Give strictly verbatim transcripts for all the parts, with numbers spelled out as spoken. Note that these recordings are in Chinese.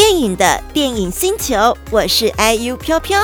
電影的電影星球，我是 I U 飄飄。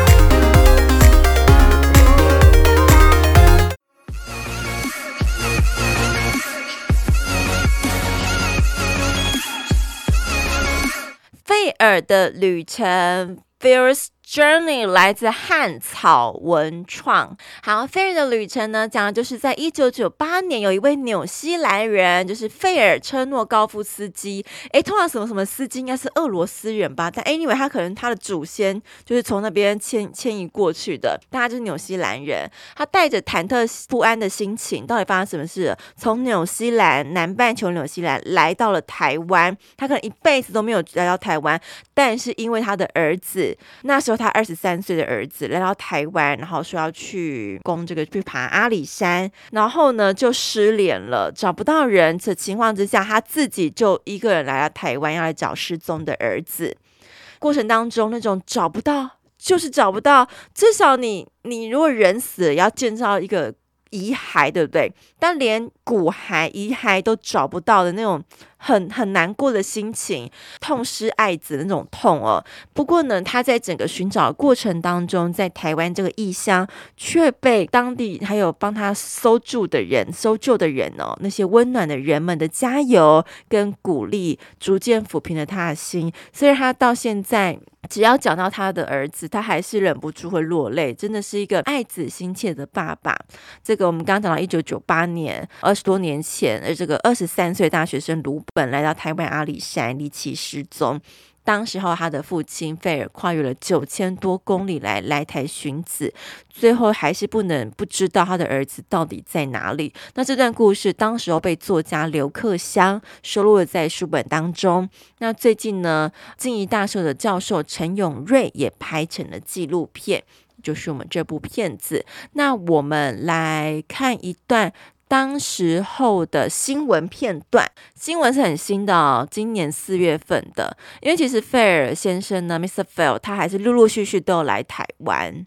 費爾的旅程 Phil's Journey 來自漢草文創。好，費爾的旅程呢，講的就是在一九九八年，有一位紐西蘭人，就是費爾車諾高夫斯基。誒，通常什麼什麼斯基應該是俄羅斯人吧？但 anyway， 他可能他的祖先就是從那邊遷遷移過去的，但他就是紐西蘭人。他帶着忐忑不安的心情，到底發生什麼事？從紐西蘭南半球紐西蘭來到了台灣，他可能一輩子都沒有來到台灣，但是因為他的兒子，那時候他二十三歲的兒子來到台灣，然後說要去攻這個去爬阿里山，然後呢就失聯了，找不到人的情況之下，他自己就一個人來到台灣，要來找失蹤的兒子。過程當中那種找不到就是找不到，至少你你如果人死了，也要建造一個遺骸，對不對？但連骨骸遺骸都找不到的那種很很難過的心情，痛失愛子的那種痛哦。不過呢，他在整個尋找的過程當中，在台灣這個異鄉，卻被當地還有幫他搜救的人、搜救的人哦，那些溫暖的人們的加油跟鼓勵，逐漸撫平了他的心。雖然他到現在，只要講到他的兒子，他還是忍不住會落淚，真的是一個愛子心切的爸爸。這個我們剛剛講到一九九八年，二十多年前，而這個二十三歲大學生盧本來到台灣阿里山離奇失蹤。當時候他的父親費爾跨越了九千多公里來來台尋子，最後還是不能不知道他的兒子到底在哪裡。那這段故事當時候被作家劉克襄收錄了在書本當中。那最近呢，靜宜大學的教授陳永瑞也拍成了紀錄片，就是我們這部片子。那我們來看一段當時候的新聞片段，新聞是很新的哦，今年四月份的。因為其實費爾先生呢 ，Mister Phil， 他還是陸陸續續都有來台灣。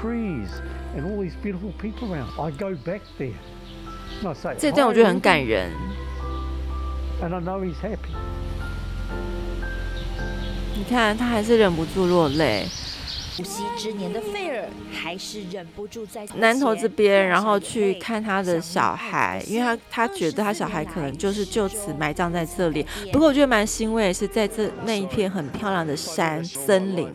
這段我覺得很感人。你看，他還是忍不住落淚。 無息之年的費爾還是忍不住在南投這邊，然後去看他的小孩，因為他他覺得他小孩可能就是就此埋葬在這裡。不過我覺得蠻欣慰的是，在這那一片很漂亮的山森林。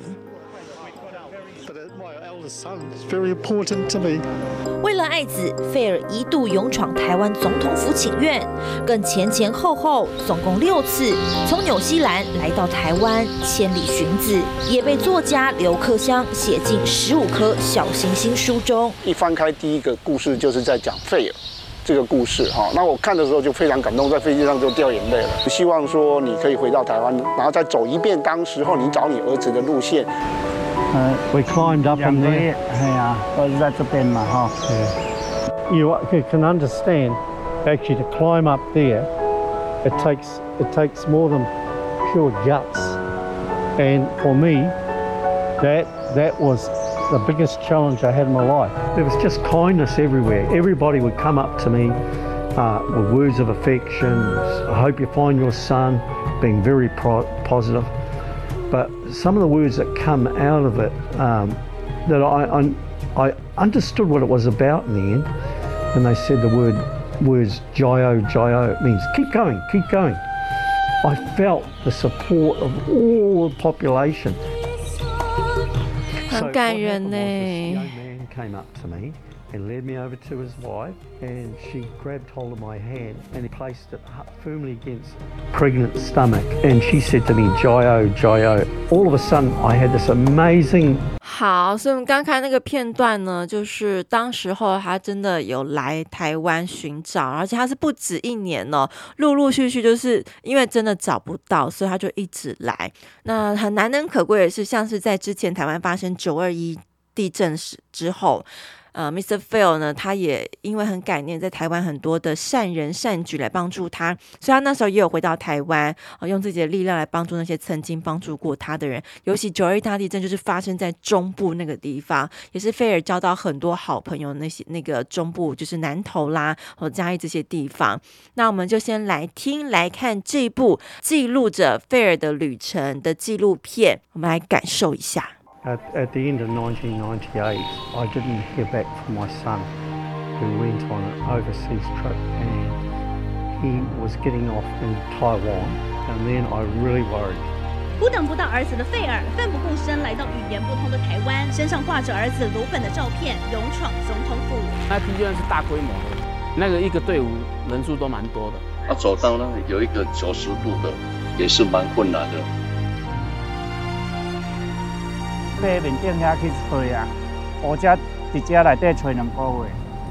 為了愛子，費爾一度勇闖台灣總統府請願，更前前後後總共六次從紐西蘭來到台灣千里尋子，也被作家劉克襄寫進十五顆小星星書中。 一翻開第一個故事，就是在講費爾這個故事哈。那我看的時候就非常感動，在飛機上就掉眼淚了。希望說你可以回到台灣，然後再走一遍當時候你找你兒子的路線。 Uh, we climbed up from there. 係啊，我喺這邊嘛，哈。You can understand, actually, to climb up there, it takes it takes more than pure guts. And for me, that that was the biggest challenge I had in my life. There was just kindness everywhere. Everybody would come up to me uh, with words of affection. I hope you find your son, being very pro- positive. But some of the words that come out of it, um, that I, I I understood what it was about in the end. And they said the word words Jayo Jayo. It means keep going, keep going. I felt the support of all the population. 很感人呢。 So this young man came up to me and led me over to his wife, and she grabbed hold of my hand and he placed it firmly against pregnant stomach, and she said to me, Jayo, Jayo. All of a sudden, I had this amazing. 好，所以我們剛看那個片段呢，就是當時候他真的有來台灣尋找，而且他是不止一年哦，陸陸續續就是因為真的找不到，所以他就一直來。那很難能可貴的是，像是在之前台灣發生九二一地震時之後。呃 ，Mister Phil 呢，他也因為很感念在台灣很多的善人善舉來幫助他，所以他那時候也有回到台灣，呃，用自己的力量來幫助那些曾經幫助過他的人。尤其九二一大地震就是發生在中部那個地方，也是菲爾交到很多好朋友。那些那個中部就是南投啦和嘉義這些地方。那我們就先來聽來看這部記錄着菲爾的旅程的紀錄片，我們來感受一下。 At, at the end of nineteen ninety-eight, I didn't hear back from my son, who went on an overseas trip, and he was getting off in Taiwan, and then I really worried. 不等不到兒子的費爾奮不顧身來到語言不通的台灣，身上掛着兒子魯本的照片，勇闖總統府。 那批就算是大規模的，那個一個隊伍人數都蠻多的。 要走到那裡有一個九十度的，也是蠻困難的。 爬面頂遐去找啊，烏只佇遮內底找兩個月。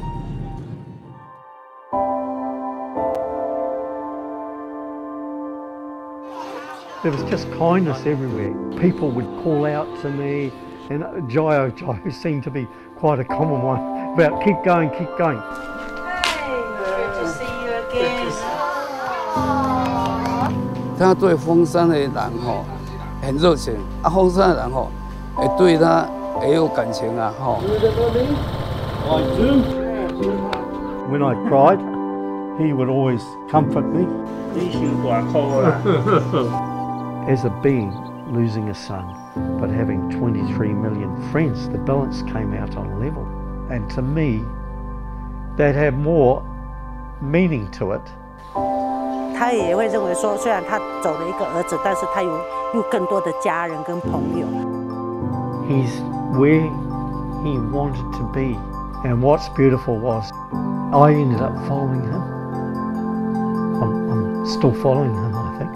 There was just kindness everywhere. People would call out to me, and Jio Jio seemed to be quite a common one about keep going, keep going. Hi, good to see you again. 他對鳳山的人吼很熱情，啊，鳳山的人吼。會對他也有感情啊，吼。 When I cried, he would always comfort me. As a being losing a son, but having twenty-three million friends, the balance came out on level. And to me, that had more meaning to it. 他也會認為說，雖然他走了一個兒子，但是他有有更多的家人跟朋友。 He's where he wanted to be. And what's beautiful was I ended up following him. I'm, I'm still following him, I think.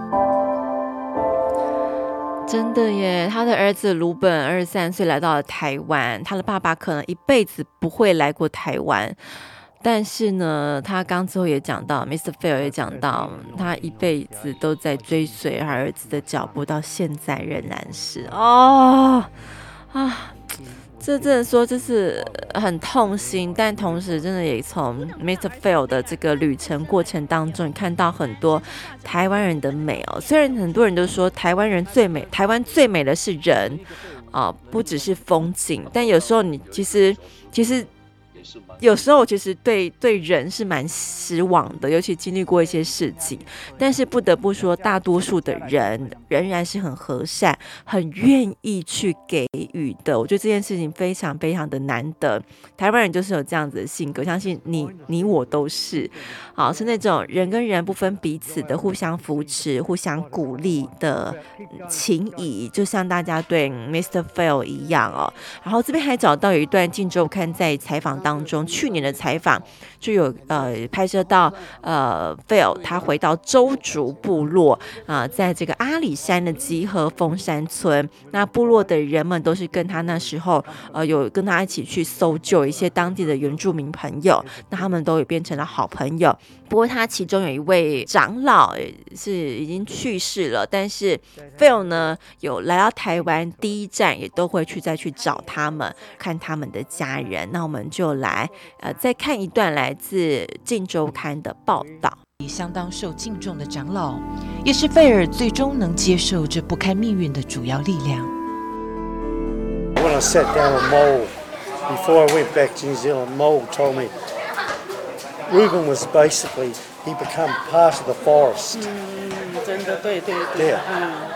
真的耶，他的兒子魯本二十三歲來到了台灣，他的爸爸可能一輩子不會來過台灣。但是呢，他剛之後也講到 ，Mister Phil 也講到，他一輩子都在追隨他兒子的腳步，到現在仍然是哦啊，這真的說就是很痛心，但同時真的也從 Mister Phil 的這個旅程過程當中，看到很多台灣人的美哦。雖然很多人都說台灣人最美，台灣最美的是人啊、呃，不只是風景，但有時候你其實其實。有時候其實對對人是蠻失望的，尤其經歷過一些事情。但是不得不說，大多數的人仍然是很和善，很願意去給予的。我覺得這件事情非常非常的難得。台灣人就是有這樣子的性格，相信你你我都是，好，是那種人跟人不分彼此的，互相扶持、互相鼓勵的情誼，就像大家對 Mister Phil 一樣哦。然後這邊還找到有一段《鏡週刊》在採訪當中。去年的採訪就有呃拍攝到呃 Phil 他回到鄒族部落啊、呃，在這個阿里山的集合鳳山村，那部落的人們都是跟他那時候呃有跟他一起去搜救一些當地的原住民朋友，那他們都也變成了好朋友。不過他其中有一位長老是已經去世了，但是 Phil 呢有來到台灣，第一站也都會去再去找他們，看他們的家人。那我們就來呃再看一段來自《鏡週刊》的報道。 相當受敬重的長老，也是費爾最終能接受這不堪命運的主要力量。 When I sat down with Mole before I went back to New Zealand, Mole told me Reuben was basically he became part of the forest. 嗯，真的对对对。 Yeah.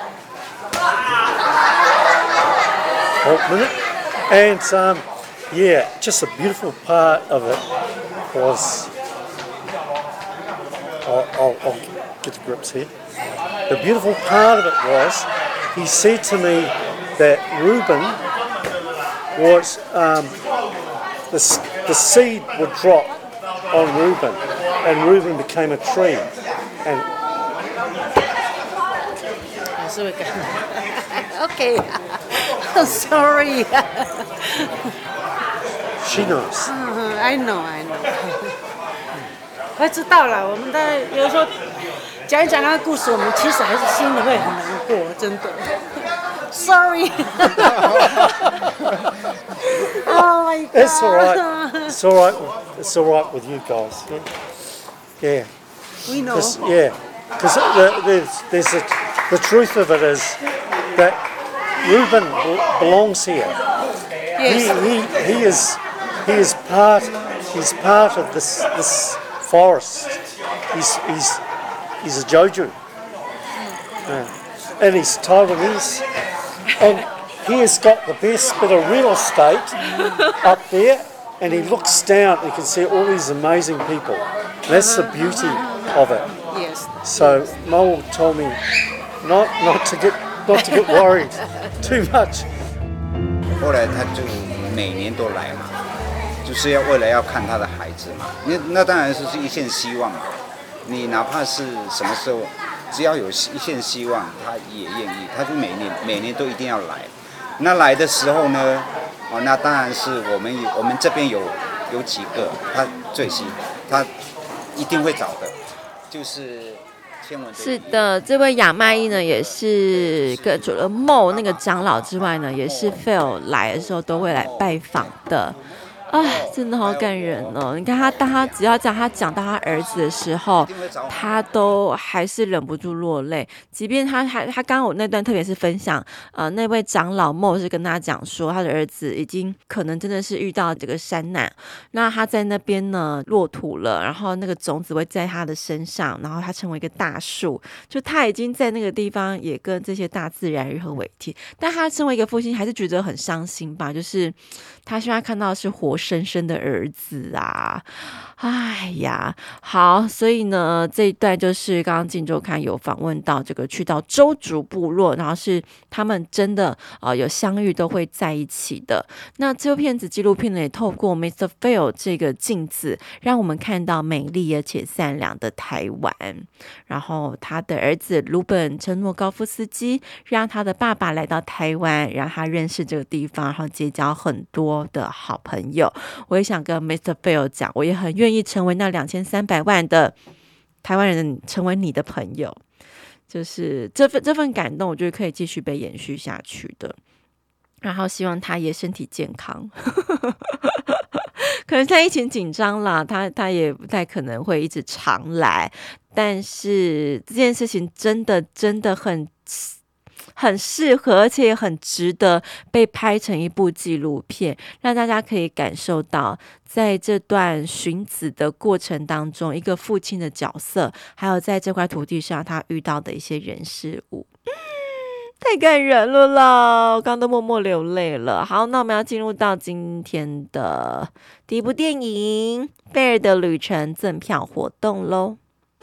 Oh, minute. And um, yeah, just a beautiful part of it was. I'll, I'll, I'll get the grips here. The beautiful part of it was he said to me that Reuben was um, the the seed would drop on Reuben, and Reuben became a tree. And okay, I'm sorry. She knows. Uh, I know, I know. 我知道了，我們的有時候講一講那個故事，我們其實還是心裡會很難過，真的。Sorry. Oh my God. It's all right. It's all right. It's all right with you guys. Yeah. yeah. We know. Cause, yeah. Because the, there's, there's a, the truth of it is that Reuben belongs here. Yes. He, he, he is he is part he's part of this this forest. He's he's he's a Jojo. Yeah. And he's Taiwanese. And he has got the best bit of real estate up there, and he looks down and you can see all these amazing people. That's the beauty of it. Yes. So Mo told me not not to get not to get worried too much. 后来他就每年都来嘛，就是要为了要看他的孩子嘛。那那当然是一线希望。你哪怕是什么时候，只要有一线希望，他也愿意，他就每年每年都一定要来。那来的时候呢，哦，那当然是我们我们这边有有几个他最新，他一定会找的，就是天文。 是的，这位亚麦伊呢，也是跟除了Mo那个长老之外呢，也是 Phil 来的时候都会来拜訪的。哎，真的好感人哦！你看他，當他只要講他講到他兒子的時候，他都還是忍不住落淚。即便他還他剛剛我那段特別是分享，呃，那位長老Mo是跟他講說，他的兒子已經可能真的是遇到這個山難，那他在那邊呢落土了，然後那個種子會在他的身上，然後他成為一個大樹，就他已經在那個地方也跟這些大自然融合為一體。但他身為一個父親，還是覺得很傷心吧，就是他希望看到的是活生生的兒子啊，哎呀，好，所以呢，這一段就是剛剛鏡週刊有訪問到這個去到鄒族部落，然後是他們真的呃有相遇都會在一起的。那這部片子紀錄片呢，也透過 Mister Phil 這個鏡子，讓我們看到美麗而且善良的台灣。然後他的兒子魯本承諾高夫斯基，讓他的爸爸來到台灣，讓他認識這個地方，然後結交很多的好朋友。我也想跟 Mister Phil 講，我也很願意成為那兩千三百萬的台灣人，成為你的朋友。就是這份這份感動，我覺得可以繼續被延續下去的。然後希望他也身體健康。可能現在疫情緊張啦，他他也不太可能會一直常來。但是這件事情真的真的很。很適合，而且也很值得被拍成一部紀錄片，讓大家可以感受到，在這段尋子的過程當中，一個父親的角色，還有在這塊土地上他遇到的一些人事物，嗯，太感人了啦！我剛剛都默默流淚了。好，那我們要進入到今天的第一部電影《菲爾的旅程》贈票活動嘍。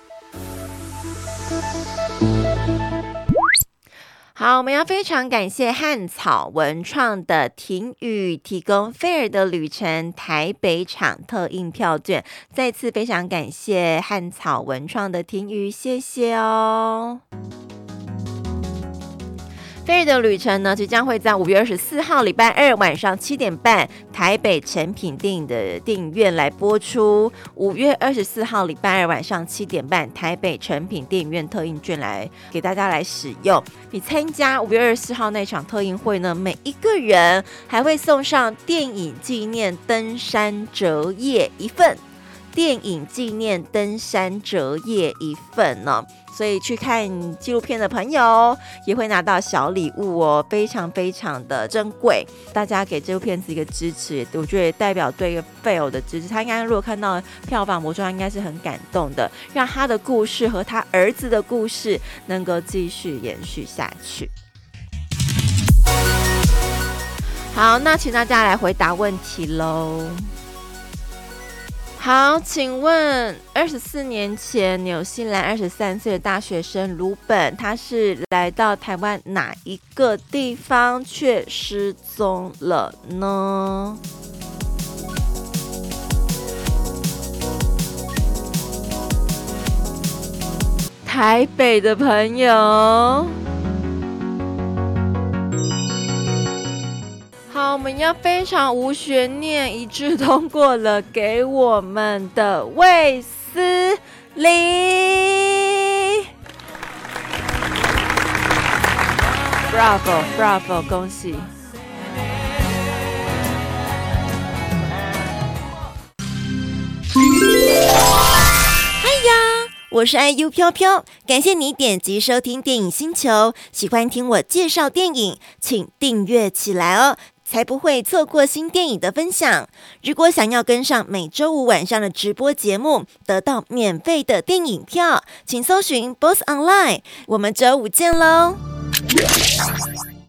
好，我們要非常感謝漢草文創的婷雨提供菲爾的旅程台北場特印票券，再次非常感謝漢草文創的婷雨，謝謝哦。菲爾的旅程呢，即將會在五月二十四號禮拜二晚上七點半，台北誠品電影的電影院來播出。五月二十四號禮拜二晚上七點半，台北誠品電影院特印券來給大家來使用。你參加五月二十四號那場特映會呢，每一個人還會送上電影紀念登山折頁一份，電影紀念登山折頁一份呢。所以去看紀錄片的朋友也會拿到小禮物哦，非常非常的珍貴。大家給這部片子一個支持，我覺得也代表對一個 Phil 的支持。他應該如果看到票房魔術，應該是很感動的，讓他的故事和他兒子的故事能夠繼續延續下去。好，那請大家來回答問題嘍。好，請問二十四年前，紐西蘭二十三歲的大學生魯本，他是來到台灣哪一個地方卻失蹤了呢？台北的朋友。好，我們要非常無懸念一致通過了給我們的衛斯理 Bravo Bravo 恭喜。 我是 I U 飄飄，感謝你點擊收聽電影星球。喜歡聽我介紹電影，請訂閱起來哦，才不會錯過新電影的分享。如果想要跟上每週五晚上的直播節目，得到免費的電影票，請搜尋 B O S S Online。我們週五見嘍！